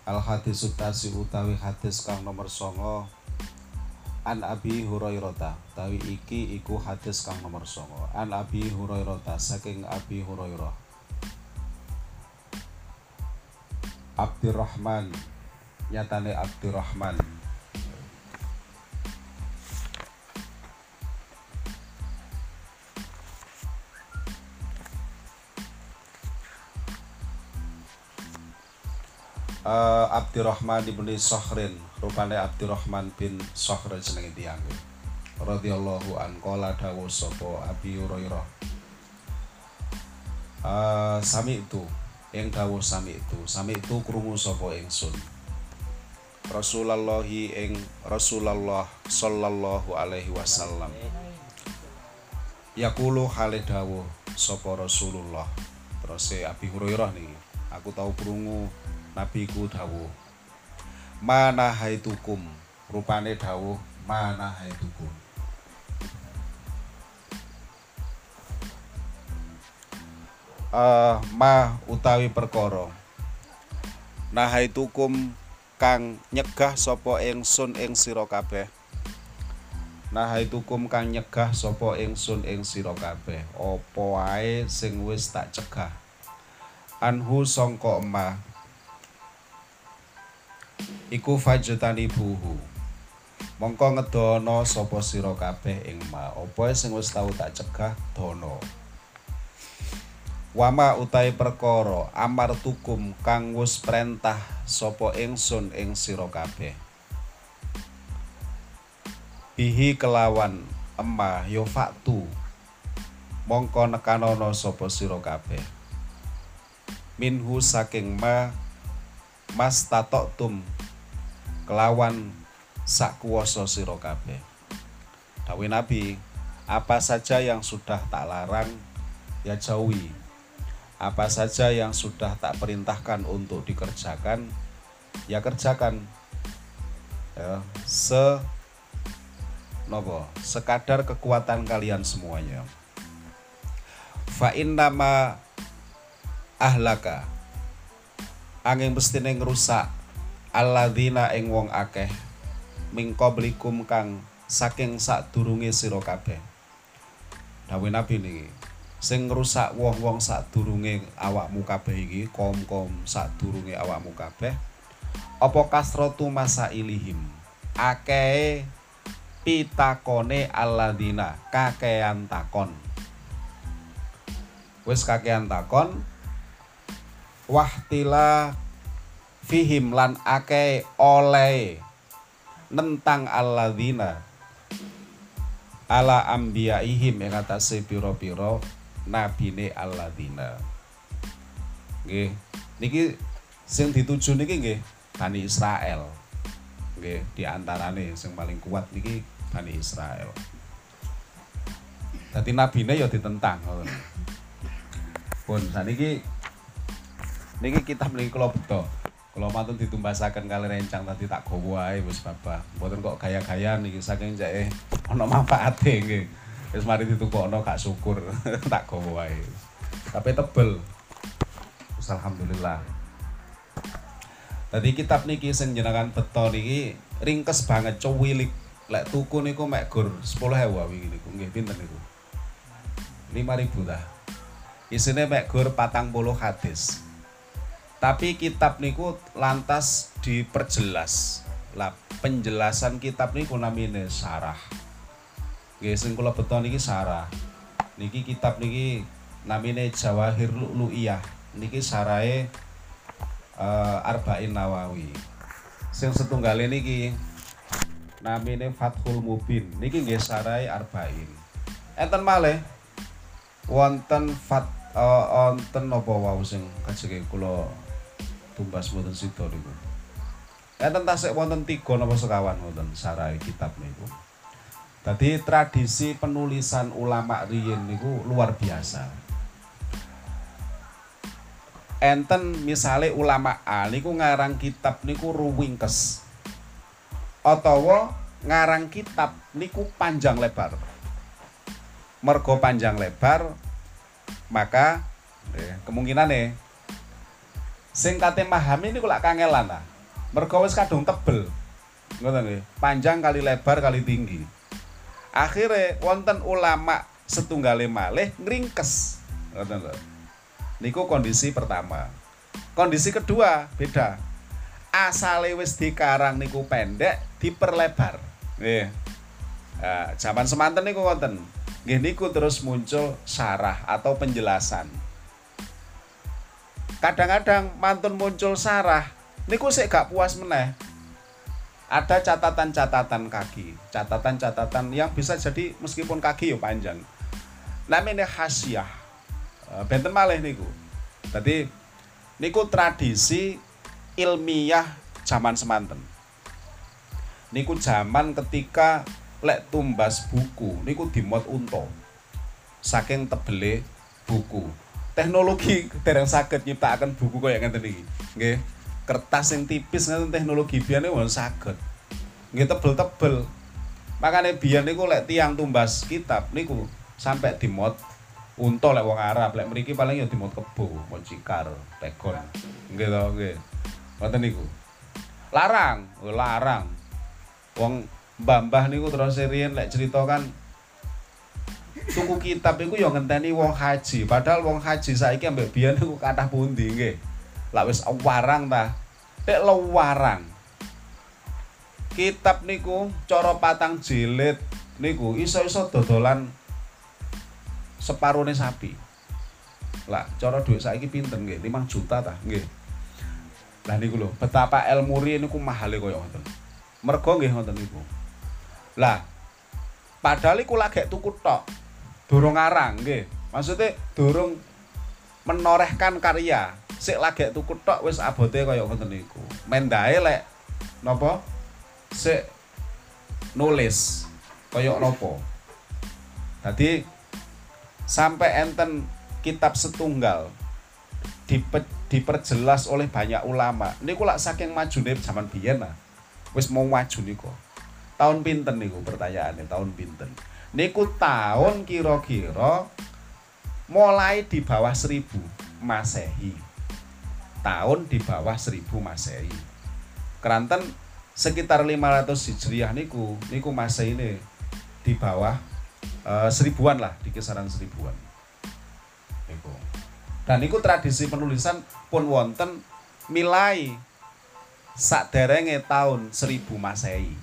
Al hadis utasi utawi hadis kang nomor 9 An Abi Hurairah tawi iki iku hadis kang nomor 9 An Abi Hurairah saking Abi Hurairah Abdurrahman nyatane Abdurrahman Abdurrahman bin Sokhrin rupane Abdurrahman bin Sokhr jenenge tiyang radhiyallahu an qala dawuh sapa Abi Hurairah sami itu ing dawuh sami itu krungu sapa ingsun Rasulullah ing Rasulullah sallallahu alaihi wasallam yaqulu hale dawuh sapa Rasulullah terus Abi Hurairah niki aku tau krungu Nabi ku dawuh mana haitukum rupane dawuh mana haitukum ma utawi perkara nah haitukum kang nyegah sapa ingsun ing sira kabeh nah haitukum kang nyegah sapa ingsun ing sira kabeh apa wae sing wis tak cegah anhu sangka emah iku fajtani buhu mongko ngedono sapa sira kabeh ing ma apa sing wis tau tak cegah dono wama utahe perkara amartukum kang wis perintah sapa ingsun ing sira kabeh bihi kelawan emma yo faktu mongko nekanono sapa sira kabeh minhu saking ma mas tatoktum kelawan sak kuwasa sira kabeh dawuh Nabi apa saja yang sudah tak larang ya jauhi apa saja yang sudah tak perintahkan untuk dikerjakan ya kerjakan ya, sekadar kekuatan kalian semuanya fa innama ahlaka angin mestine ngrusak alladzina ing wong akeh mingkoblikum kang saking sadurunge sira kabeh dawuh Nabi niki sing ngrusak wong-wong sadurunge awakmu kabeh iki kaum-kaum sadurunge awakmu kabeh apa kasratu masailihim akeh pitakone alladzina kakean takon wis kakean takon wahtila fihim lan akeh oleh nentang alladzina ala ambiyaihim ing atase pira-pira nabine alladzina nggih niki sing dituju niki nggih Bani Israel nggih diantarane sing paling kuat niki Bani Israel dadi nabine ya ditentang ngoten pun saniki niki kitab niki kula beto kula mantun ditumbasaken kali rencang tadi tak gawa ae wis babah mboten kok gaya-gaya niki saking jake ana manfaate nggih wis mari ditukokno gak syukur tak gawa ae tapi tebel wis alhamdulillah dadi kitab niki sing jenengan beto niki ringkes banget cuwilik lek tuku niku mek gur 10.000 wingi niku nggih pinten niku 5.000 dah isine mek gur 40 hadis tapi kitab niku lantas diperjelas lah penjelasan kitab niku namine syarah nggih sing kula beto niki syarah niki kitab niki namine Jawahir Lu'lu'iyah niki syarahe Arba'in Nawawi sing setunggale niki namine Fathul Mubin niki nggih syarahe Arba'in enten malih wonten wonten napa wau sing kajenge kula tumbas mboten sida niku. Enten tasik wonten 3 napa sekawan wonten syarahe kitab niku. Dadi tradisi penulisan ulama riyin niku luar biasa. Enten misale ulama A niku ngarang kitab niku ruwingkes. Atawa ngarang kitab niku panjang lebar. Mergo panjang lebar maka kemungkinan sing kate mahami niku lak kangelan ta. Mergo wis kadung tebel. Ngoten nggih. Panjang kali lebar kali tinggi. Akhire wonten ulama setunggale malih ngringkes. Ngoten lho. Niku kondisi pertama. Kondisi kedua beda. Asale wis dikarang niku pendek diperlebar. Nggih. Nah, zaman semanten niku wonten. Nggih niku terus muncul syarah atau penjelasan. Kadang-kadang mantun muncul syarah niku sik gak puas meneh. Ada catatan-catatan kaki, catatan-catatan yang bisa jadi meskipun kaki yo panjang. Namanya hasyiah. Benten malih niku. Dadi niku tradisi ilmiah zaman semanten. Niku zaman ketika lek tumbas buku niku dimot unta. Saking tebele buku. Teknologi dereng saged nyiptakaken buku kaya ngeten iki. Nggih. Kertas yang tipis ngeten teknologi biyen niku saged. Nggih tebel-tebel. Makane biyen niku lek tiyang tumbas kitab niku sampai dimot unta lek wong Arab, lek mriki paling ya dimot kebo, mot cikar, tegon. Nggih to, nggih. Ngoten niku. Larang. Wong mbah-mbah niku terus riyen lek cerita kan tuku kitab iku ya ngenteni wong haji. Padahal wong haji saiki ambek biyen niku kathah pundi nggih. Lah wis warang ta. Nek warang. Kitab niku cara 4 jilid niku iso-iso dodolan separone sapi. Lah cara dhuwit saiki pinten nggih? 5 juta ta nggih. Lah niku lho, betapa ilmu riyen niku mahale kaya ngoten. Mergo nggih ngoten niku. Lah padahal iku lagi tuku tok. Durung ngarang nggih. Maksudnya durung menorehkan karya. Sik lagi tuku tok wis abote kaya ngoten niku. Mendahe lek napa? Sik nulis kaya napa. Dadi sampai enten kitab setunggal diperjelas oleh banyak ulama. Niku lak saking majune zaman biyen lah. Wis mau maju niku. Tahun pinten niku pertanyaane, tahun pinten? Niku tahun kira-kira mulai di bawah 1000 Masehi. Tahun di bawah 1000 Masehi. Keranten sekitar 500 Hijriah niku Masehi ini di bawah 1000-an lah, di kisaran 1000-an. Niku. Dan niku tradisi penulisan pun wonten milai saderenge tahun 1000 Masehi.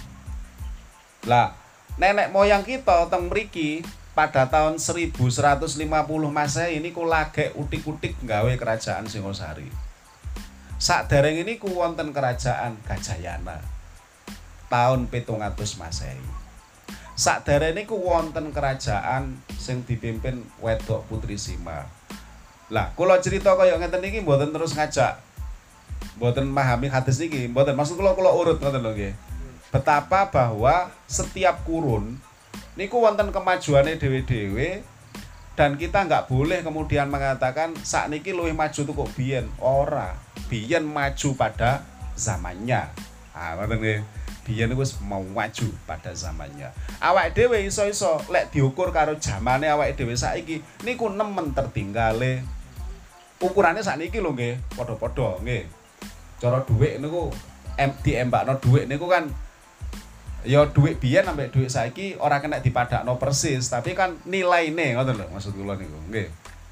Lah, nenek moyang kita teng mriki pada tahun 1150 Masehi niku lagi utik-utik nggawe kerajaan Singosari. Saderenge niku wonten kerajaan Gajayana. Tahun 700 Masehi. Saderenge niku wonten kerajaan sing dipimpin wedok Putri Sima. Lah, kula cerita kaya ngeten iki mboten terus ngajak. Mboten memahami hadis niki, mboten. Maksud kula urut ngoten lho nggih. Betapa bahwa setiap kurun niku wonten kemajuane dhewe-dhewe dan kita nggak boleh kemudian mengatakan sakniki luwih maju tuh kok biyen. Ora. Biyen maju pada zamannya. Ah, ngoten nggih. Biyen niku wis mau maju pada zamannya. Awake dhewe iso-iso lek diukur karo zamane awake dhewe saiki niku nemen tertinggale. Ukurane sakniki lho nggih, padha-padha nggih. Cara dhuwit niku diembakno dhuwit niku kan ya dhuwit biyen ambek dhuwit saiki ora kena dipadakno persis, tapi kan nilaine ngoten lho maksud kula niku, nggih.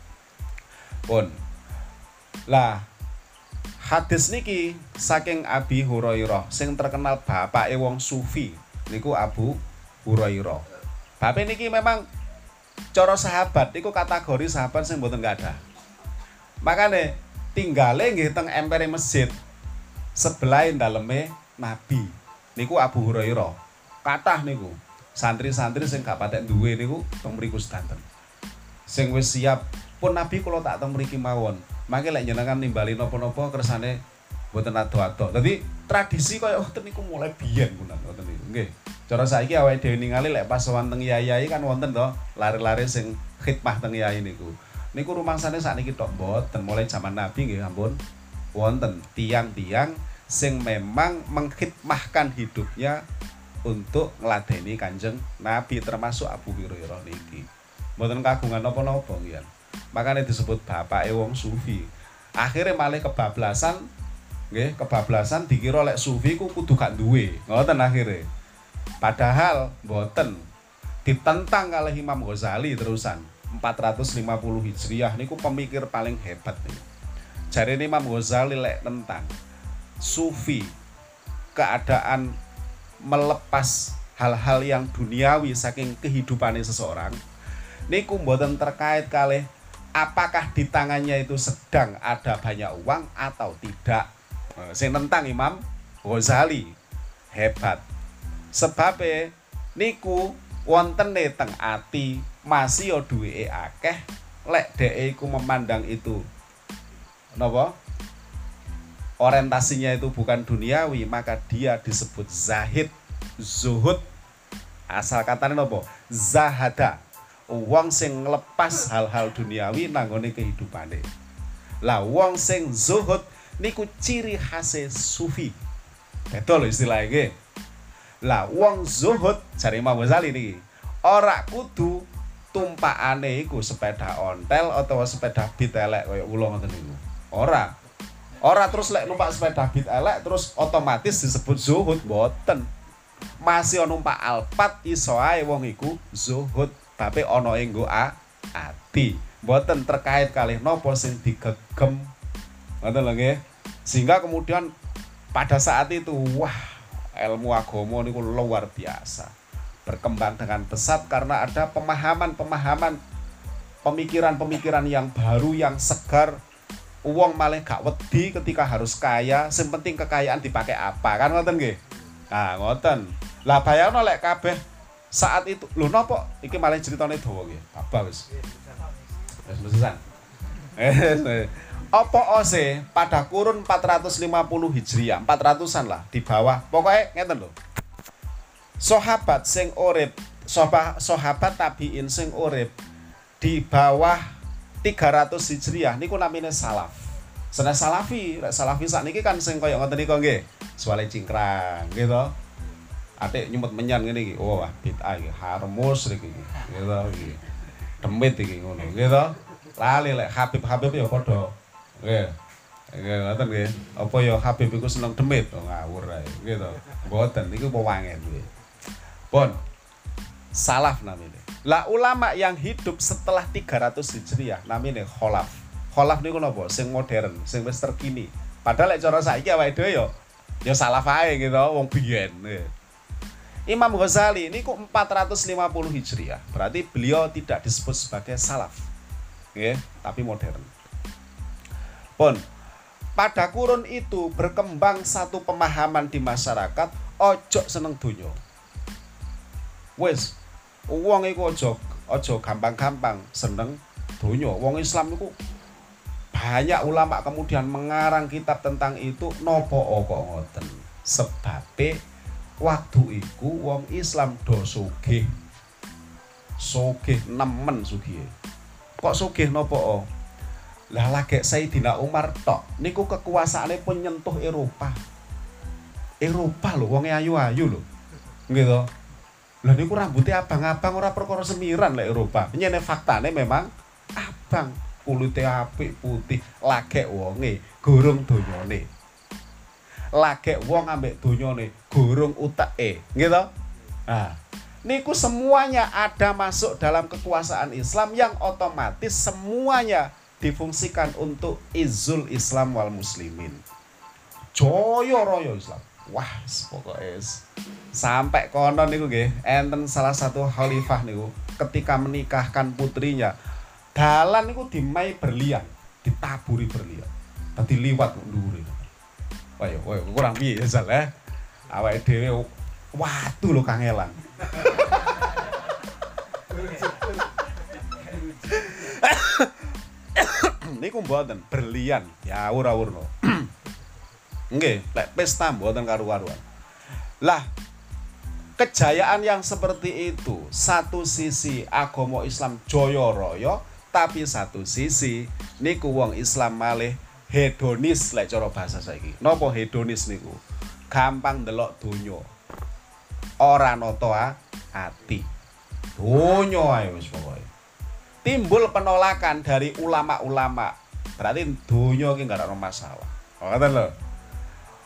Pun. Lah hadis niki saking Abi Hurairah sing terkenal bapake wong sufi niku Abu Hurairah. Bapak niki memang cara sahabat niku kategori sahabat sing mboten ada. Makane tinggale nggih teng empere masjid sebelah daleme Nabi. Niku Abu Hurairah. Kathah niku santri-santri sing gak patek duwe niku teng mriku sedanten. Sing wis siap pun Nabi kula tak teng mriki mawon. Mangke lek njenengan nimbali napa-napa kersane mboten ado-ado. Dadi tradisi kaya ngoten niku mulai biyen ngoten niku. Nggih. Cara saiki awake dhewe ningali lek pas wonten yai kan wonten to lare-lare sing khidmah teng yai niku. Niku rumangsane sakniki tok mboten mulai zaman Nabi nggih ampun. Wonten tiang-tiang sing memang mengkhidmahkan hidupnya untuk ngladeni Kanjeng Nabi termasuk Abu Hurairah niki. Mboten kagungan napa-napa nggih. Makanya disebut bapake wong sufi. Akhirnya malah kebablasan Nggih, kebablasan dikira lek sufi ku kudu gak duwe. Ngoten akhire. Padahal mboten. Ditentang kalih Imam Ghazali terusan. 450 Hijriah niku pemikir paling hebat niku. Jarene Imam Ghazali lek tentang sufi, keadaan melepas hal-hal yang duniawi saking kehidupane seseorang niku mboten terkait kalih apakah di tangannya itu sedang ada banyak uang atau tidak. Sing tentang Imam Ghazali hebat. Sebabe niku wontene teng ati masih yo duweke akeh lek dheke iku memandang itu napa? Orientasinya itu bukan duniawi, maka dia disebut zahid, zuhud. Asal katanya napa? Zahada. Wong sing nglepas hal-hal duniawi nanggone kehidupane. Lah wong sing zuhud niku ciri khase sufi. Betul istilah iki. Lah wong zuhud jare Imam Ghazali niki ora kudu tumpakane iku sepeda ontel utawa sepeda bit elek kaya kula ngoten niku. Ora terus lek numpak sepeda bit elek terus otomatis disebut zuhud, mboten. Masih numpak Alphard iso ae wong iku zuhud, tapi ana ing nggo ati. Mboten terkait kalih napa sing digegem. Ngoten lho nggih. Sehingga kemudian pada saat itu wah, ilmu agama niku luar biasa. Berkembang dengan pesat karena ada pemahaman-pemahaman, pemikiran-pemikiran yang baru, yang segar. Uang malah gak wedi ketika harus kaya, sing penting kekayaan dipakai apa, kan ngoten nggih. Nah, ngoten. Lah bayangno lek kabeh saat itu, lho napa iki malah critane dawa nggih. Apa wis. Wis mesesan. Apa ose pada kurun 450 Hijriah, 400-an lah di bawah. Pokoknya ngeten lho. Sahabat sing urip, sahabat tabiin sing urip di bawah 300 Hijriah niku namine salaf. Senes salafi sakniki kan sing kaya ngoten niku nggih. Suwale cingkrang gitu. Atik nyumet menyan ngene iki. Oh, wah bid'ah iki, harmus iki. Gitu iki. Demit iki ngono, gitu. Lali lek Habib ya padha. Nggih. Nggih ngoten nggih. Apa ya Habib iku seneng demit, ngawur ae gitu. Mboten niku pewangen nggih. Pun salaf namanya. Lah ulama yang hidup setelah 300 Hijriah namanya kholaf. Kholaf niku napa? Sing modern, sing wis terkini. Padahal lek cara saiki awake dhewe ya salaf ae gitu, wong biyen. Imam Ghazali niku 450 Hijriah. Berarti beliau tidak disebut sebagai salaf. Nggih, tapi modern. Pun pada kurun itu berkembang satu pemahaman di masyarakat, ojo seneng donya. Wis wong iku aja gampang-gampang seneng donya. Wong Islam iku banyak ulama kemudian mengarang kitab tentang itu. Napa kok ngoten? Sebabe waktu iku wong Islam do sugih. Sugih nemen sugih. Kok sugih napa? Lah lagek Sayyidina Umar tok niku kekuasaane pun nyentuh Eropa. Eropa lho wonge ayu-ayu lho. Nggih to? Lah niku rambutnya abang-abang ora perkara semiran lek Eropa. Nyene faktane memang abang, kulite apik, putih, lagek wonge gorong donyane. Lagek wong ambek donyane gorong uteke, nggih to? Nah, niku semuanya ada masuk dalam kekuasaan Islam yang otomatis semuanya difungsikan untuk izzul Islam wal muslimin. Jaya raya Islam. Wah, pokoknya sampai konon niku nggih, enten salah satu khalifah niku ketika menikahkan putrinya, dalan niku dimai berlian, ditaburi berlian. Dadi liwat ndure. Wah, kurang piye ya Sal ya. Awake dhewe watu lho kangelan. Niku mboten berlian, ya ora-urno. Nggih, lek pesta mboten karu-karuan. Lah, kejayaan yang seperti itu, satu sisi agama Islam jaya raya, tapi satu sisi niku wong Islam malih hedonis lek cara bahasa saiki. Napa hedonis niku? Gampang ndelok donya. Ora nata ati. Donya ae wis pokoke. Timbul penolakan dari ulama-ulama. Berarti donya iki enggak ada masalah. Ngoten lho.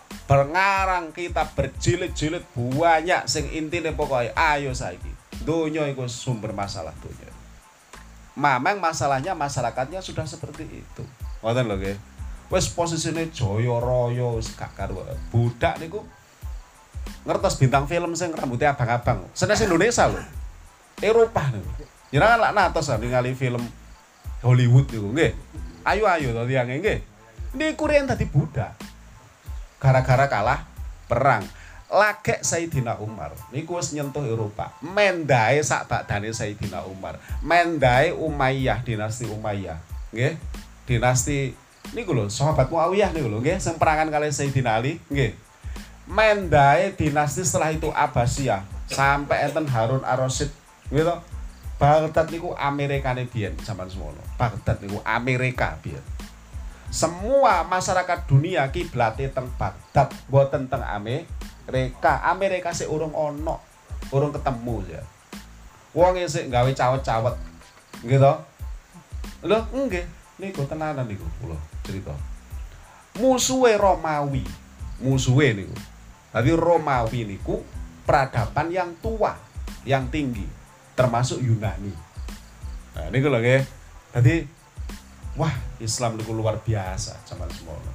Berngarang kitab berjilid-jilid banyak sing intine pokoke ayo saiki. Donya iku sumber masalah donya. Memang masalahnya masyarakatnya sudah seperti itu. Ngoten lho nggih. Wis posisine jaya raya wis gak karuan. Budak niku ngertos bintang film sing rambutnya abang-abang. Senes Indonesia lho. Eropa niku. Jenengan lak natos ningali film Hollywood niku nggih. Ayo to tiyang nggih. Niku riyen dadi budak. Gara-gara kalah perang. Lagek Sayyidina Umar niku wis nyentuh Eropa. Mendae sak bakdane Sayyidina Umar. Mendae Umayyah, dinasti Umayyah. Nggih. Dinasti niku lho, sahabat Muawiyah niku lho nggih, sing perangan kali Sayyidina Ali nggih. Mendae dinasti setelah itu Abbasiyah sampai enten Harun Ar-Rasyid gitu. Baghdad niku Amerikane biyen zaman semono. Baghdad niku Amerika biyen. Semua masyarakat dunia kiblate teng Baghdad, mboten teng Amerika sik urung ono, urung ketemu ya. Wong sik gawe cawet-cawet. Nggih to? Lho, nggih, niku tenanan niku kula cerita. Musuhe Romawi. Musuhe niku. Tapi Romawi niku peradaban yang tua, yang tinggi, termasuk Yunani. Nah, niku lho nggih. Dadi wah, Islam niku luar biasa zaman semono.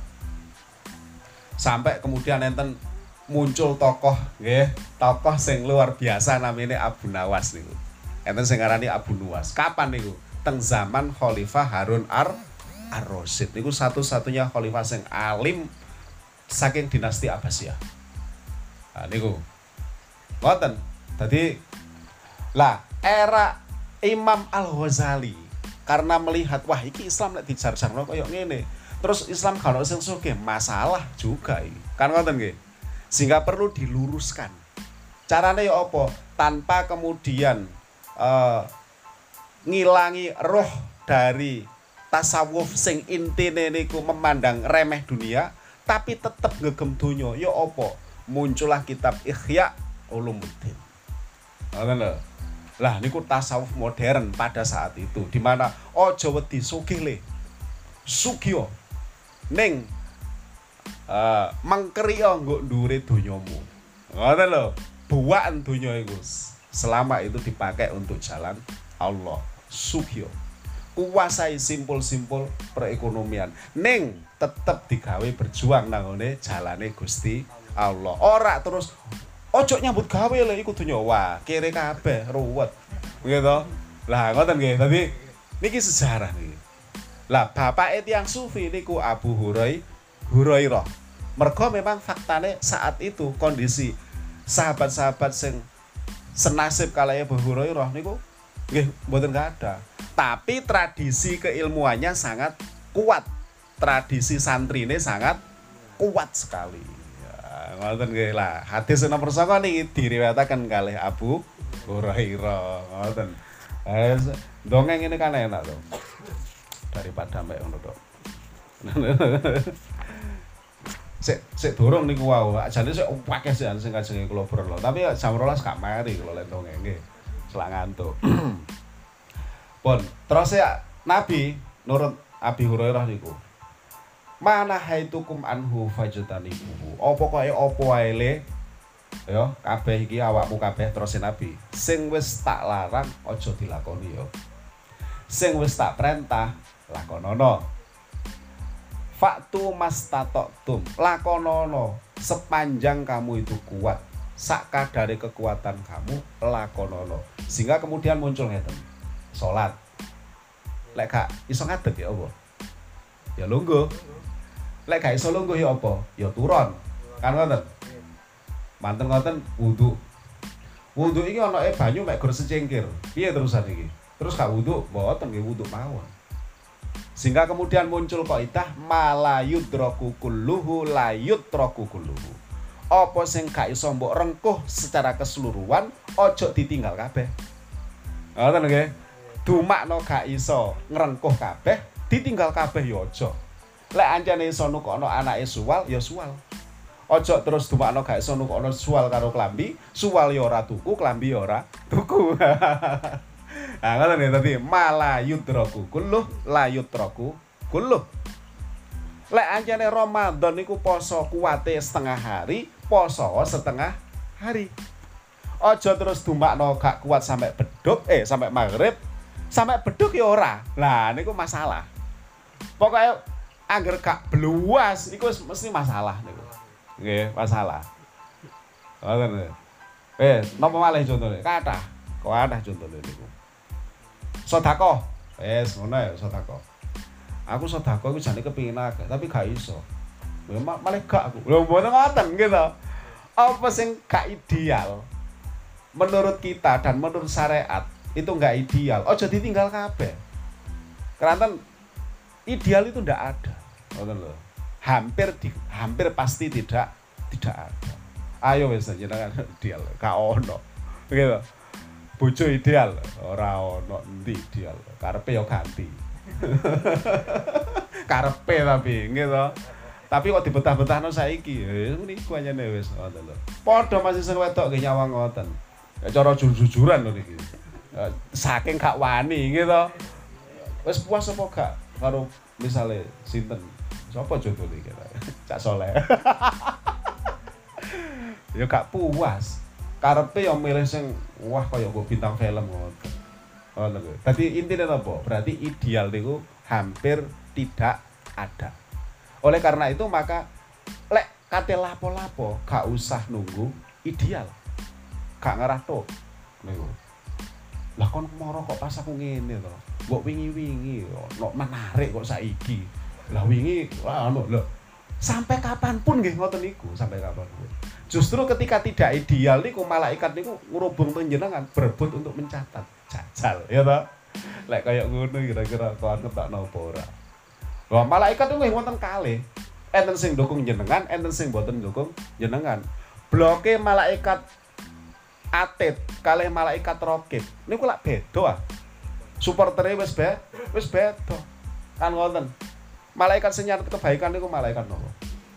Sampai kemudian enten muncul tokoh nggih, tokoh sing luar biasa namanya Abu Nawas niku. Enten sing ngarani Abu Nuwas. Kapan niku? Teng zaman Khalifah Harun Ar-Rasyid. Niku satu-satunya khalifah sing alim saking dinasti Abbasiyah. Nah niku. Ngoten. Dadi lah era Imam Al-Ghazali karena melihat wah iki Islam nek dijar-jarno koyo ngene. Terus Islam kalau sing sugih masalah juga iki. Kan ngoten nggih. Sehingga perlu diluruskan. Caranya ya apa? Tanpa kemudian ngilangi roh dari tasawuf sing intine niku memandang remeh dunia, tapi tetap ngegem donya. Ya apa? Muncullah kitab Ihya Ulumuddin. Ngoten lho. Lah niku tasawuf modern pada saat itu, di mana aja wedi sugih le. Sugih ning mangkeriya nggo ndure donyamu. Ngoten lho, buakan donya iku selama itu dipakai untuk jalan Allah. Sugih. Kuasai simpul-simpul perekonomian. Ning tetep digawe berjuang nang ngene jalane Gusti Allah. Ora terus ojo nyambut gawe lho iku donya. Wah, kere kabeh ruwet. Gitu. Lah ngoten nggih. Dadi niki sejarah niki. Lah bapake tiyang sufi niku Abu Hurairah. Mergo memang faktane saat itu kondisi sahabat-sahabat sing senasib kalih Abu Hurairah niku nggih mboten ada. Tapi tradisi keilmuannya sangat kuat. Tradisi santrine sangat kuat sekali. Ya, ngoten nggih lah. Hadis nomor 9 niki diriwayataken kalih Abu Hurairah. Ngoten. Dongeng ini kan enak to. Daripada mbek ngono to. Sik dorong niku wau. Ajane sik akeh sing kajenge kula berlo. Tapi jam 12 gak mari kula lek dongeng nggih. Selak ngantuk. Pun terus ya Nabi nurut Abi Hurairah niku. Mana haitukum anhu fajtanibuhu. Apa kaya apa wae le? Ya, kabeh iki awakmu kabeh terus Nabi. Sing wis tak larang aja dilakoni ya. Sing wis tak perintah lakonono. Faktu mastatoktum, lakonono sepanjang kamu itu kuat. Sak kadare kekuatan kamu lakonono. Sehingga kemudian muncul ngeten. Salat. Lek gak iso ngadeg ya apa? Ya lungguh. Lek gak iso lungguh ya apa? Ya turun. Kan ngoten. Manten ngoten wudu. Wudu iki ana banyu mek gur secengkir. Piye terusan iki? Terus gak wudu, mboten nggih wudu mawon. Sehingga kemudian muncul kaidah malayudraku kulluhu layutraku kulluhu. Apa sing gak iso mbok rengkuh secara keseluruhan, ojo ditinggal kabeh. Ngoten nggih. Dumakno gak iso ngrengkuh kabeh, ditinggal kabeh ya aja. Lek ancene iso nukokno anake suwal, ya suwal. Ojo terus dumakno gak iso nukokno suwal karo klambi, suwal ya ora tuku, klambi ya ora tuku. Nah, ngoten nggih tadi malayudraku kulluh layutraku kulluh. Lek anjane Ramadan niku poso kuwate setengah hari, poso setengah hari. Aja terus dumakno gak kuat sampai beduk, sampai maghrib, sampai beduk ya ora. Lah niku masalah. Pokoknya angger gak bluwas niku mesti masalah niku. Nggih, masalah. Ngoten. Napa malih contone? Kathah. Kathah contone niku. Sedekah. Wis ngono ya sedekah. Aku sedekah iku jane kepengin akeh, tapi gak iso. Malah gak aku. Lho mboten ngoten gitu. Apa sing gak ideal? Menurut kita dan menurut syariat itu enggak ideal. Ojo ditinggal kabeh. Keranten ideal itu ndak ada. Ngoten lho. Hampir pasti tidak ada. Ayo wis jenengan ideal, gak ono. Gitu. Bojo ideal, ora ono endi ideal. Karepe yo ganti. Karepe tapi gitu. Tapi kok dibetah-betahno saiki. Niku anyane wis ngoten lho. Padha masih sing wedok nggih nyawang ngoten. Ya cara jujur-jujuran lho niki. Saking gak wani gitu. Wis puas apa gak karo misale sinten? Sapa jodone iki? Cak Soleh. Ya gak puas. Karepe yo milih sing wah kaya mbok bintang film ngoten. Ngoten lho. Dadi intine apa? Berarti ideal niku hampir tidak ada. Oleh karena itu maka lek kate lapo-lapo gak usah nunggu ideal. Gak ngarah tok niku. Lah kon moro kok pas aku ngene to. Mbok wingi-wingi kok menarik kok saiki. Lah wingi anu lho. Sampai kapanpun nggih ngoten niku, sampai kapanpun. Justru ketika tidak ideal niku malaikat niku ngrubung panjenengan berebut untuk mencatat. Jajal ya toh. Lek kaya ngono kira-kira kok ngetokno apa ora. Wah, malaikat itu wonten kalih. Enten sing ndukung jenengan, enten sing mboten ndukung jenengan. Bloke malaikat Atid kalih malaikat Raqib. Niku lak beda ah. Supportere wis beda. Kan ngoten. Malaikat sing nyatet kebaikan niku malaikat napa?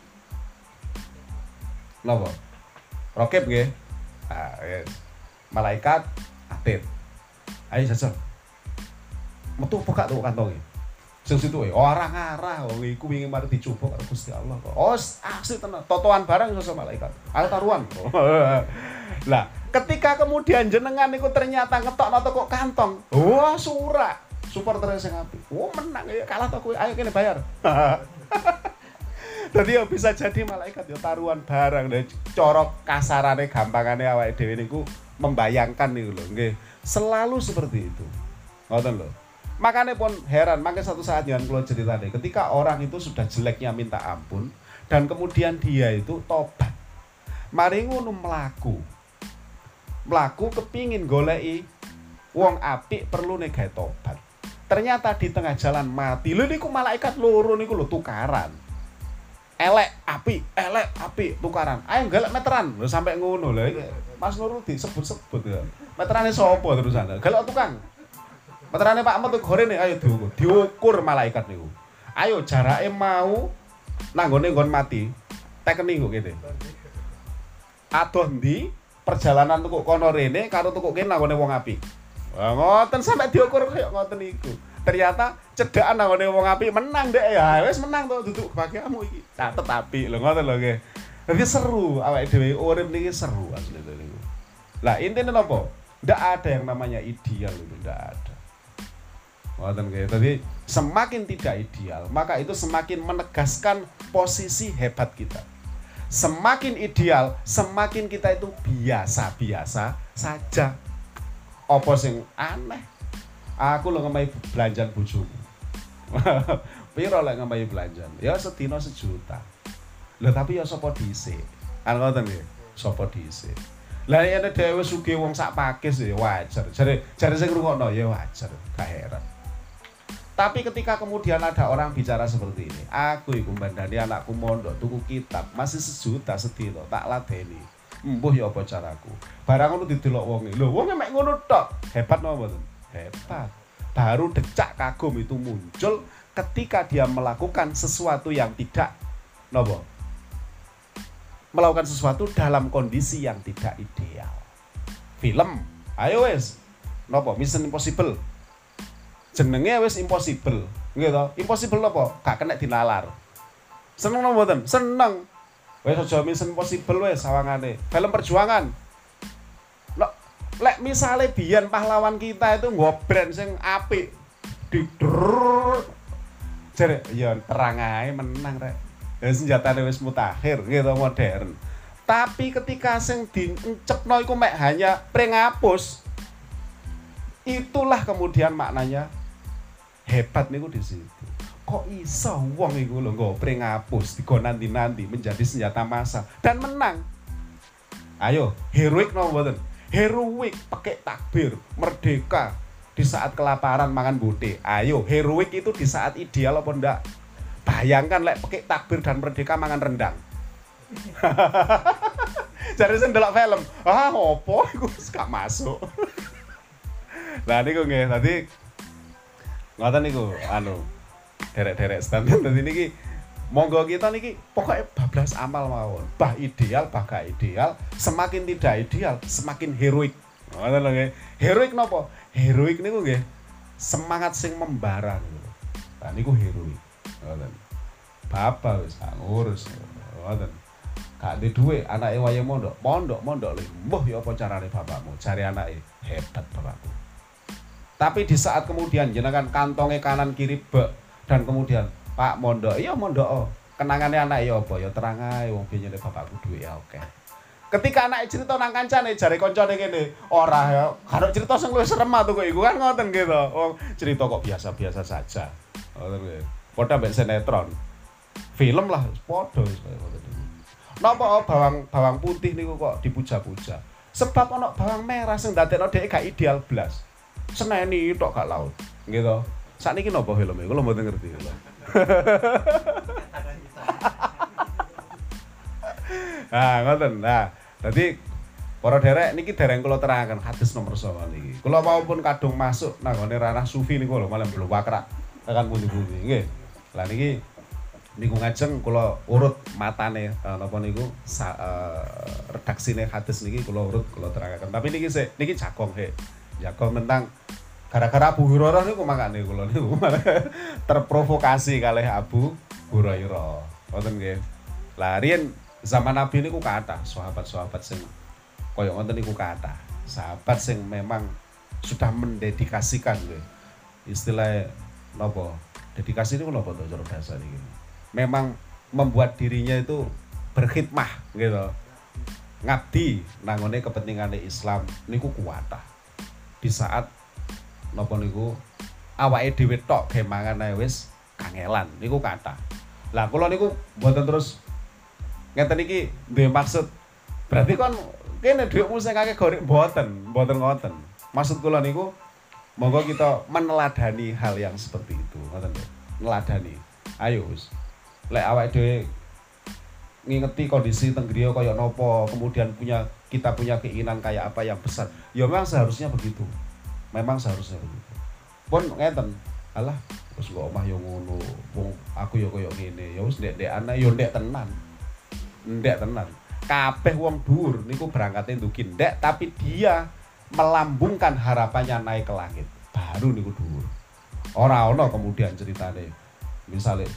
Napa? Raqib nggih. Ah, yes. Malaikat Atid. Ayo jajal. Metu apa gak tuh kantonge? Sing situ ora ngarah wong iku wingi mari dicoba karo Gusti Allah kok. Oh, aksi tenan. Totoan barang iso malaikat. Ayo taruhan. Lah, ketika kemudian jenengan niku ternyata ngetokno teko kantong. Wah, surak. Supporter sing apik. Oh, menang ya kalah to kowe. Ayo kene bayar. Jadi ya bisa jadi malaikat ya taruhan barang dan corok kasarane gampangane awake dhewe niku membayangkan niku lho nggih. Selalu seperti itu. Ngoten lho. Makanya pun heran, makanya satu saat yang keluar cerita deh, ketika orang itu sudah jeleknya minta ampun dan kemudian dia itu tobat. Mari ngono mlaku kepingin goleki wong apik perlu nek gawe tobat. Ternyata di tengah jalan mati. Lho niku malaikat loro niku lho tukaran. Elek api tukaran. Ayo galak meteran. Lho sampai ngono lho. Mas Nurul disebut-sebut ya. Meterane sapa terusan? Galak tukang. Meterane Pak Ahmad gorene ayo diukur malaikat niku. Ayo jarake mau nanggone nggon mati. Tekeni kok kene. Adoh ndi perjalanan tukuk kono rene karo tukuk kene nanggone wong apik. Wah ngoten sampe diukur koyo ngoten niku. Ternyata cedhakan nanggone wong apik menang ndek ya. Wis menang to duduk bagianmu iki. Catet apik lho ngoten lho nggih. Dadi seru awake dhewe urip niki seru asli niku. Lah intine napa? Ndak ada yang namanya ideal itu, ndak ada. Ngoten nggih. Jadi semakin tidak ideal, maka itu semakin menegaskan posisi hebat kita. Semakin ideal, semakin kita itu biasa-biasa saja. Apa sing aneh? Aku lho ngemahi belanjan bojomu. Piro lek ngemahi belanjan? Ya sedina 1 juta. Lho tapi ya sapa dhisik? Kan ngoten nggih. Sapa dhisik? Lah yen dhewe sugih wong sak pakis ya wajar. Jare sing ngrungokno ya wajar, gak heran. Tapi ketika kemudian ada orang bicara seperti ini, aku iku mbandani anakku mondok tuku kitab masih 1 juta sedina tak ladeni. Embuh ya apa caraku. Barang ngono didelok wonge. Lho wonge mek ngono tok. Hebat napa mboten? Hebat. Baru decak kagum itu muncul ketika dia melakukan sesuatu yang tidak napa? Melakukan sesuatu dalam kondisi yang tidak ideal. Film, ayo wes. Napa? Mission Impossible. Jenenge wis impossible, nggih to? Impossible apa? Gak kena dinalar. Seneng napa mboten? Seneng. Wis aja Mission Impossible wis sawangane. Film perjuangan. Lek misale biyen pahlawan kita itu nggo brand sing apik. Dider. Jare ya terang ae menang rek. Ya senjatane wis mutakhir gitu modern. Tapi ketika sing diencepno iku mek hanya prengapus. Itulah kemudian maknanya hebat niku di situ. Kok iso wong iku lho nggo prengapus digo nanti-nanti menjadi senjata massal dan menang. Ayo, heroik napa mboten? Heroik pakai takbir, merdeka di saat kelaparan mangan bote. Ayo, heroik itu di saat ideal apa ndak? Bayangkan lek pakai takbir dan merdeka mangan rendang. Jadi sing delok film, opo iku gak masuk. Lah niku nggih, dadi ngoten niku derek-derek standar dadi niki monggo kita niki pokoknya bablas amal mawon. Bah ideal, bah gak ideal, semakin tidak ideal, semakin heroik. Ngoten lho nggih. Heroik napa? Heroik niku nggih semangat sing membara niku. Lah niku heroik. Ngoten. Bapak wis gak ngurus. Ngoten. Gak ndek dhuwit, anake wayah mondok lho. Mbah ya apa carane bapakmu? Jare anake, hebat bapakku. Tapi di saat kemudian jenengan kantonge kanan kiri bek dan kemudian Pak mondok, iya mondok. Kenangane anak ya apa? Ya terang ae wong biyen bapakku duwe ya oke. Ketika anak cerita nang kancane jare kancane kene, ora ya, karo cerita sing luwih serem tuh kok iku kan ngoten gitu. Wong cerita kok biasa-biasa saja. Ngoten nggih. Padha mbek sinetron. Film lah padha wis kaya ngoten niku. Napa bawang putih niku kok dipuja-puja? Sebab ana bawang merah sing ndadekno dhek gak ideal blas. Seneni tok gak laut. Gitu. Sakniki napa filme? Kula mboten ngerti lho. Nah, ngoten. Nah, dadi para derek niki dereng kula terangaken hadis nomor 9 niki. Kula maupun kadung masuk nang ngene ranah sufi niku lho, malah belum wakrak tekan pundi-pundi. Nggih. Lah niki ngajeng kula urut matane napa niku redaksine hadis niki kula urut kula terangaken. Tapi niki jagong jagong tentang gara-gara Abu Hurairah niku makane kula niku terprovokasi kalih Abu Hurairah. Ngoten nggih. Lah riyen zaman Nabi niku kathah sahabat-sahabat sing kaya ngoten niku kathah. Sahabat sing memang sudah mendedikasikan nggih. Istilah napa? Dedikasi niku napa to cara bahasa niki? Memang membuat dirinya itu berkhidmah gitu. Ngabdi nangone kepentingane Islam niku kuwatah. Di saat napa niku awake dhewe tok ge mangan ae wis kangelan niku kathah. Lah kula niku mboten terus ngeten iki duwe maksud berarti kon kene dhuwitmu sing akeh gorek mboten ngoten. Maksud kula niku monggo kita meneladani hal yang seperti itu ngoten lho. Neladani. Ayo wis. Lek awake dhewe ngingeti kondisi teng griya kaya napa, kemudian kita punya keinginan kayak apa yang besar. Ya memang seharusnya begitu. Memang seharusnya begitu. Pun ngeten, alah wis kok omah yo ngono, wong aku yo koyo ngene. Ya wis ndek-ndekane yo ndek tenan. Ndek tenan. Kabeh wong dhuwur niku berangkate ndugi ndek tapi dia melambungkan harapannya naik ke langit. Baru niku dhuwur. Ora ana kemudian ceritane. Misale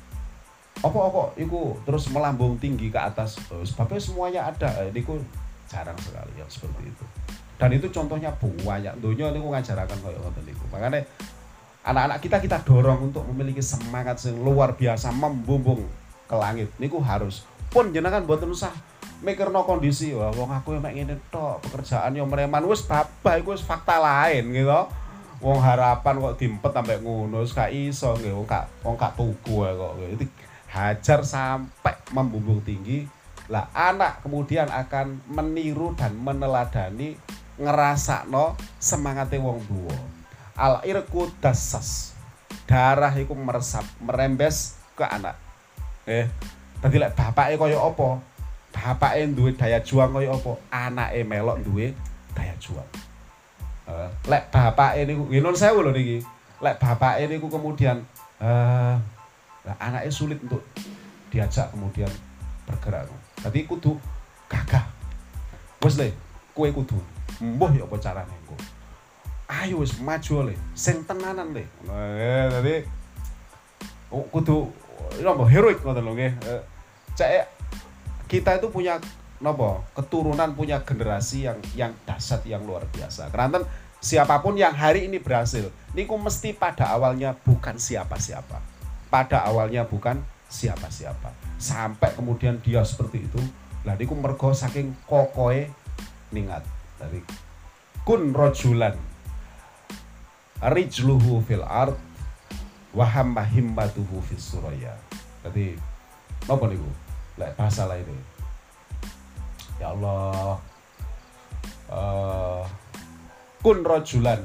apa iku terus melambung tinggi ke atas sebabnya semuanya ada niku jarang sekali yang seperti itu dan itu contohnya banyak donya niku ngajaraken kaya ngoten niku makanya anak-anak kita dorong untuk memiliki semangat yang luar biasa membumbung ke langit niku harus pun jenengan mboten usah mikirno kondisi wah wong aku mek ngene tok pekerjaan yo mereman wis babah iku wis fakta lain gitu wong harapan kok diempet sampai ngono wis gak iso nggih wong gak tuku kok gitu hajar sampai membumbung tinggi lah anak kemudian akan meniru dan meneladani ngerasakno semangate wong tuwa al irqu dassas darah iku meresap merembes ke anak dadi lek bapake kaya apa bapake duwe daya juang kaya apa anake melok duwe daya juang lek bapake niku nggih nuwun sewu lho niki lek bapake niku kemudian nah, anaknya sulit untuk diajak kemudian bergerak. Jadi kudu gagah. Wes le, kowe kudu mbuh ya apa carane engko. Ayo wis maju le, sing tenanan le. Jadi kudu napa heroik ngoten lho nggih. Cek kita itu punya napa keturunan, punya generasi yang dahsyat, yang luar biasa. Keranten siapapun yang hari ini berhasil niku mesti pada awalnya bukan siapa-siapa. Pada awalnya bukan siapa-siapa. Sampai kemudian dia seperti itu. Lah niku mergo saking kokoe ningat dari kun rojulan rijluhu fil ard wa hamma himmatuhu fis suraya. Dadi napa niku? Lek bahasa lain ya Allah, kun rojulan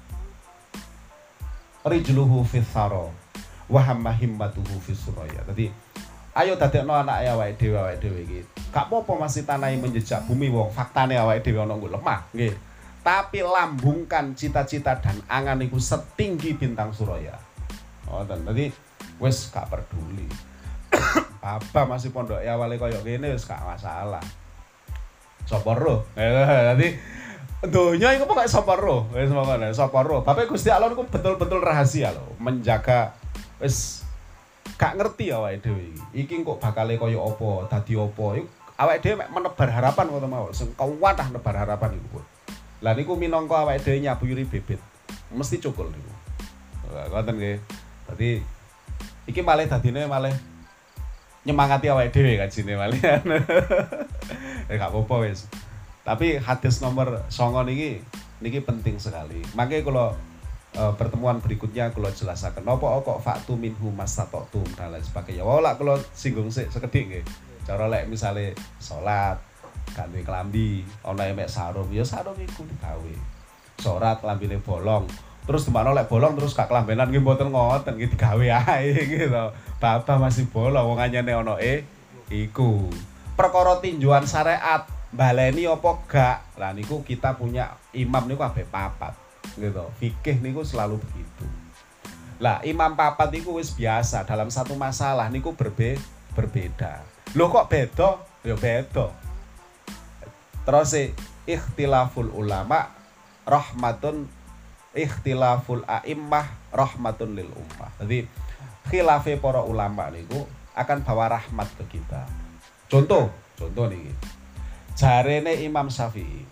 rijluhu fis thara wa hamma himmatuhu fis suraya. Dadi ayo dadekno anake awake dhewe iki. Gak apa-apa masih tanahi menjejak bumi wong, faktane awake dhewe ana nggo lemah, nggih. Tapi lambungkan cita-cita dan angan iku setinggi bintang suraya. Ngoten. Dadi wis gak peduli. Apa masih pondok ya awale koyo ngene wis gak masalah. Sapa roh. Dadi donya iku pokoke sapa roh. Wis mongkon sapa roh. Bapak Gusti Allah niku betul-betul rahasia lho, menjaga wis gak ngerti awake dhewe iki. Iki kok bakale koyo apa, dadi apa. Iku awake dhewe mek menebar harapan ngono mawon. Sing kuwatah nebar harapan iku. Lah niku minangka awake dhewe nyabuyuri bibit. Mesti cukul niku. Ngoten nggih. Dadi iki malih dadine malih nyemangati awake dhewe kajine malih. Gak apa-apa wis. Tapi hadis nomor 9 niki penting sekali. Makanya kalau pertemuan berikutnya kalau jelaskan napa kok faktu minhu mastata'tum dan lain sebagainya. Wah lak kalau singgung sekedhik nggih. Cara lek misale salat gak duwe klambi, ana mek sarung, ya sarung iku digawe. Salat klambine bolong. Terus demano lek bolong terus gak klambenan nggih mboten ngoten nggih digawe ae gitu. Bapak masih bolong wong anyane ana iku. Perkara tinjuan syariat baleni apa gak? Lah niku kita punya imam niku kabeh papat. Gitu. Fikih niku selalu begitu. Lah imam papat niku wis biasa dalam satu masalah niku berbeda. Loh kok beda? Ya beda. Terus ikhtilaful ulama rahmatun, ikhtilaful a'immah rahmatun lil ummah. Jadi khilafe para ulama niku akan bawa rahmat ke kita. Contoh nih. Jarene Imam Syafi'i.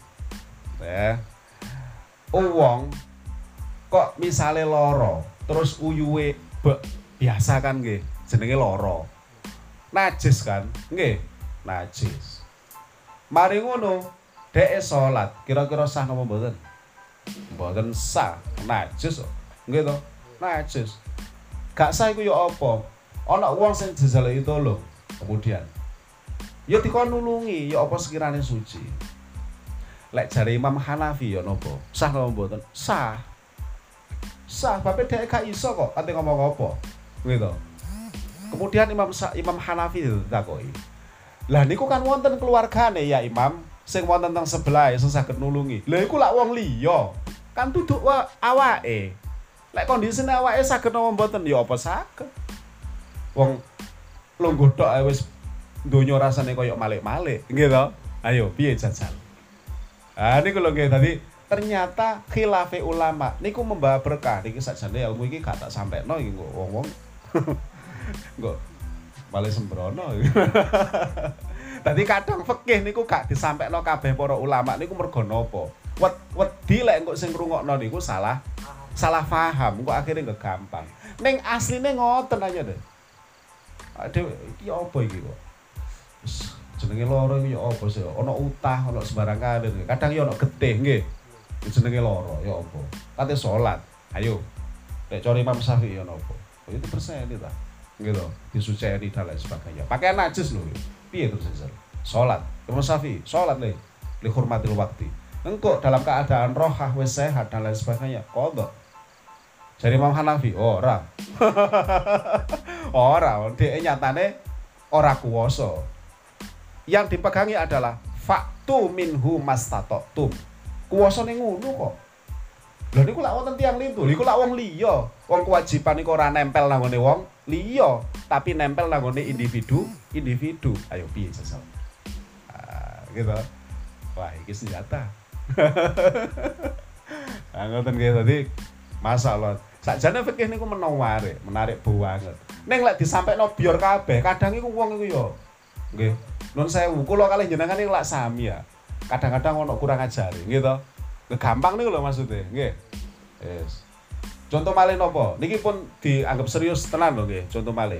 Wong kok misale loro, terus uyuwe biasa kan nggih, jenenge loro. Najis kan? Nggih, najis. Mari ngono, dhek salat, kira-kira sah napa mboten? Mboten sah, najis kok. Nggih to? Najis. Gak sah iku ya apa? Ana wong sing jejal itu lho. Kemudian ya dikon nulungi, ya apa sekirane suci. Lek jare Imam Hanafi ya napa? Sah napa mboten? Sah. Sah, bape dhek gak iso kok ate ngomong apa. Gitu. Kemudian Imam Hanafi ditakoki. Lah niku kan wonten keluargane ya Imam, sing wonten teng sebelah sing saged nulungi. Lah iku lak wong liya. Kan duduk awake. Lek kondisine awake saged napa mboten ya apa saged. Wong lungguh tok ae wis donya rasane koyo malik-malik, nggih to? Ayo piye jajal? Niku lho nggih tadi ternyata khilafe ulama niku membawa berkah. Niki sakjane ilmu iki gak tak sampekno iki kok wong-wong. Kok malah sembrono. Tadi kadang fikih niku gak disampekno kabeh para ulama niku mergo napa? Wedi lek engko sing ngrungokno niku salah paham, engko akhirnya nggak gampang. Ning asline ngoten aja deh. Aduh, iki apa iki kok? Jenenge loro iki ya apa sih? Ana utah, ana sembarang kalir. Kadang ya ana getih nggih. Jenenge loro ya apa? Kate salat. Ayo. Nek cara Imam Syafi'i ya napa? Oh, itu perseni ta. Gitu. Disuceni dan lain sebagainya. Pakaian najis lho. Piye terus sesel? Salat. Imam Syafi'i, salat li hurmatil waqti. Engko dalam keadaan rohah wis sehat dan lain sebagainya. Qadha. Jadi Imam Hanafi ora. Ora, dhek nyatane ora kuwasa. Yang dipegangi adalah faktu minhu mastata'tum. Kuwasane ngono kok. Lha niku lak wonten tiyang lintu, niku lak wong liya. Wong kewajiban iku ora nempel nang ngene wong liya, tapi nempel nang ngene individu. Ayo piye sesal. Gitu. Wah, iki senjata. Ngoten nggih tadi masalah. Sakjane fikih niku menarik banget. Ning lek disampaikno biar kabeh, kadang iku wong iku yo nggih. Nun sewu kula kalih jenengan iki lak sami ya. Kadang-kadang ono kurang ajare, nggih to. Gampang niku lho maksude, nggih. Yes. Contoh malih napa? Niki pun dianggap serius tenan lho nggih, contoh malih.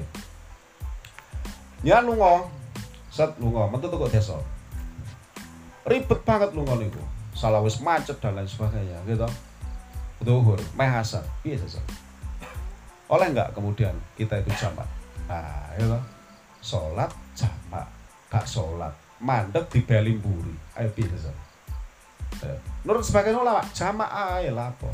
Ya lunga, metu teko desa. Ribet banget lunga niku. Salah wis macet dan lain sebagainya, gitu. Zuhur, meh asar, piye sesuk? Oleh enggak kemudian kita itu jamak? Nah, gitu. Salat jamak, gak salat, mandeg dibeli mburi. Ayo piye sesuk? Menurut sebagian ulama, jamak ae lah apa?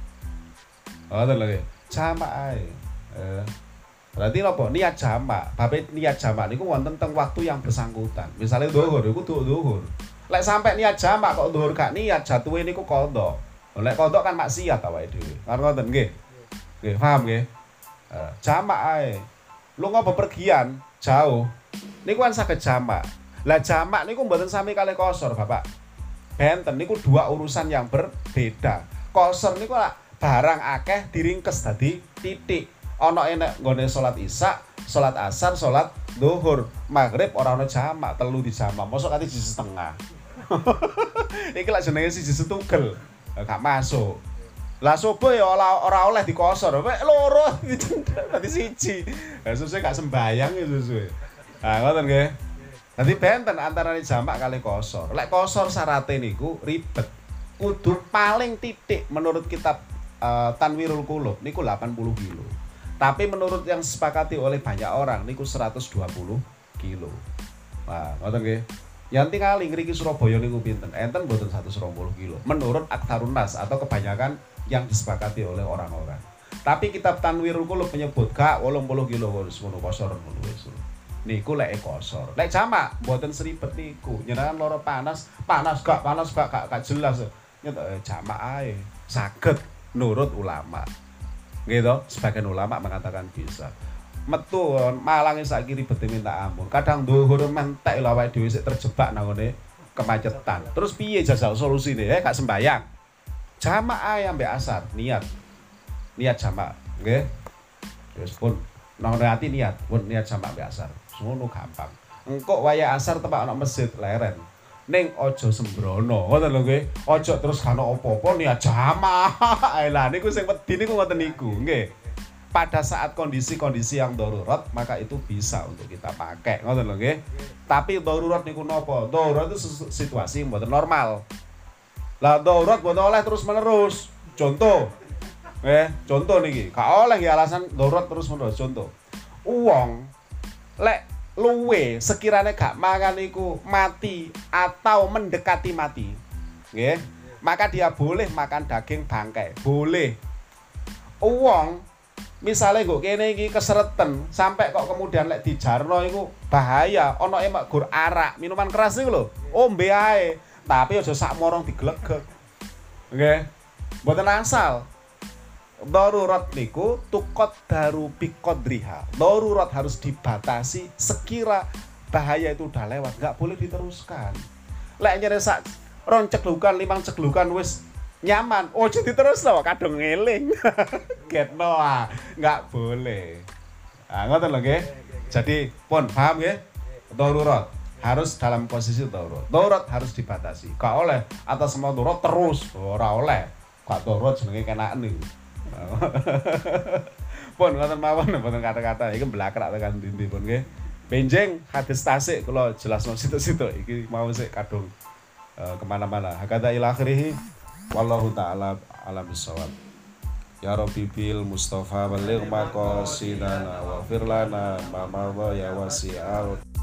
Oh, lagi. Jamak ae. Berarti apa? Niat jamak. Babe niat jamak niku wonten teng waktu yang bersangkutan. Misalnya zuhur iku zuhur. Lek sampai niat jamak kok dhuwur gak niat jatuhe niku qadha. Lek qadha kan maksiat awake dhewe. Kan ngoten nggih. Nggih, paham nggih? Jamak ae. Lunga bepergian jauh. Niku kan saged jamak. Lah jamak niku mboten sami kalih qasar, Bapak. Benten niku dua urusan yang berbeda. Qasar niku lak barang akeh diringkes dadi titik. Ana enek nggone salat Isya, salat asar, salat zuhur, maghrib ora ana jamak, telu di jamak. Mosok kate siji setengah. Iki lak jenenge siji setunggal. Gak masuk. Lah subuh ya ora oleh dikosor. Wek loro dadi siji. Lah susah gak sembayang ya susah. Nah, ngoten nggih. Dadi benten antarane jamak kali kosor. Lek kosor syaraté niku ribet. Kudu paling titik menurut kitab Tanwirul Qulub niku 80 kilo. Tapi menurut yang disepakati oleh banyak orang niku 120 kilo. Nah, ngoten nggih. Yang tingali ngriki Surabaya niku pinten? Enten mboten 120 kilo. Menurut Aktsarun Nas atau kebanyakan yang disepakati oleh orang-orang. Tapi kitab Tanwirul Qulub menyebut gak 80 kilo wis ngono kosor ngono wis. Niku lek kosor. Lek jamak mboten seribet niku. Jenengan loro panas gak jelas. Nyet jamak ae. Saged nurut ulama. Gitu, sebagian ulama mengatakan bisa. Metu Malang saiki ribet minta ampun. Kadang dhuwur mentek lho awake dhewe sik terjebak nang ngene kemacetan. Terus piye jajal solusine? Gak sembayang. Jamak ae ambek asar, niat jamak, nggih. Wis pun nang ati niat, pun niat jamak ambek asar. Ngono gampang. Engko wayah asar tepak ana masjid leren. Ning aja sembrono, ngoten lho nggih. Aja terus kan apa-apa niat jamak. Lah niku sing wedi niku ngoten niku, nggih. Pada saat kondisi-kondisi yang darurat, maka itu bisa untuk kita pakai, ngoten lho nggih. Tapi darurat niku napa? Darurat itu situasi mboten normal. Lah darurat mboten oleh terus-menerus. Contoh. Contoh niki, gak oleh nggih alasan darurat terus-menerus. Contoh. Wong lek luwe sekiranya gak mangan iku mati atau mendekati mati, nggih, maka dia boleh makan daging bangkai, boleh. Wong misalnya kok kene iki kesereten sampai kok kemudian lek dijarno iku bahaya, ana emak gur arak, minuman keras niku lho, ombe ae, tapi aja sak morong diglegek, nggih, mboten asal. Darurat niku tukot daru biqadriha. Darurat harus dibatasi sekira bahaya itu udah lewat, nggak boleh diteruskan. Lek nyere sak ron ceglukan, 5 ceglukan wis nyaman, ojo diterus lho, kadung ngeling. Getno nggak boleh. Ngoten lho nggih. Jadi pun paham nggih? Darurat harus dalam posisi darurat. Darurat harus dibatasi. Gak oleh atas semua darurat terus, ora oleh. Gak darurat jenenge kenaan niku. Pun ngoten mawon mboten kata-kata iki blakrak tekan ndi pun nggih. Benjing hadis tasik kula jelasno situ-situ iki mau sik kadung kemana-mana. Hakata ila akhirih wallahu taala alam bisawab. Ya Rabbi bil Mustafa baligh maqasidana wa firlana ma ya wasi'al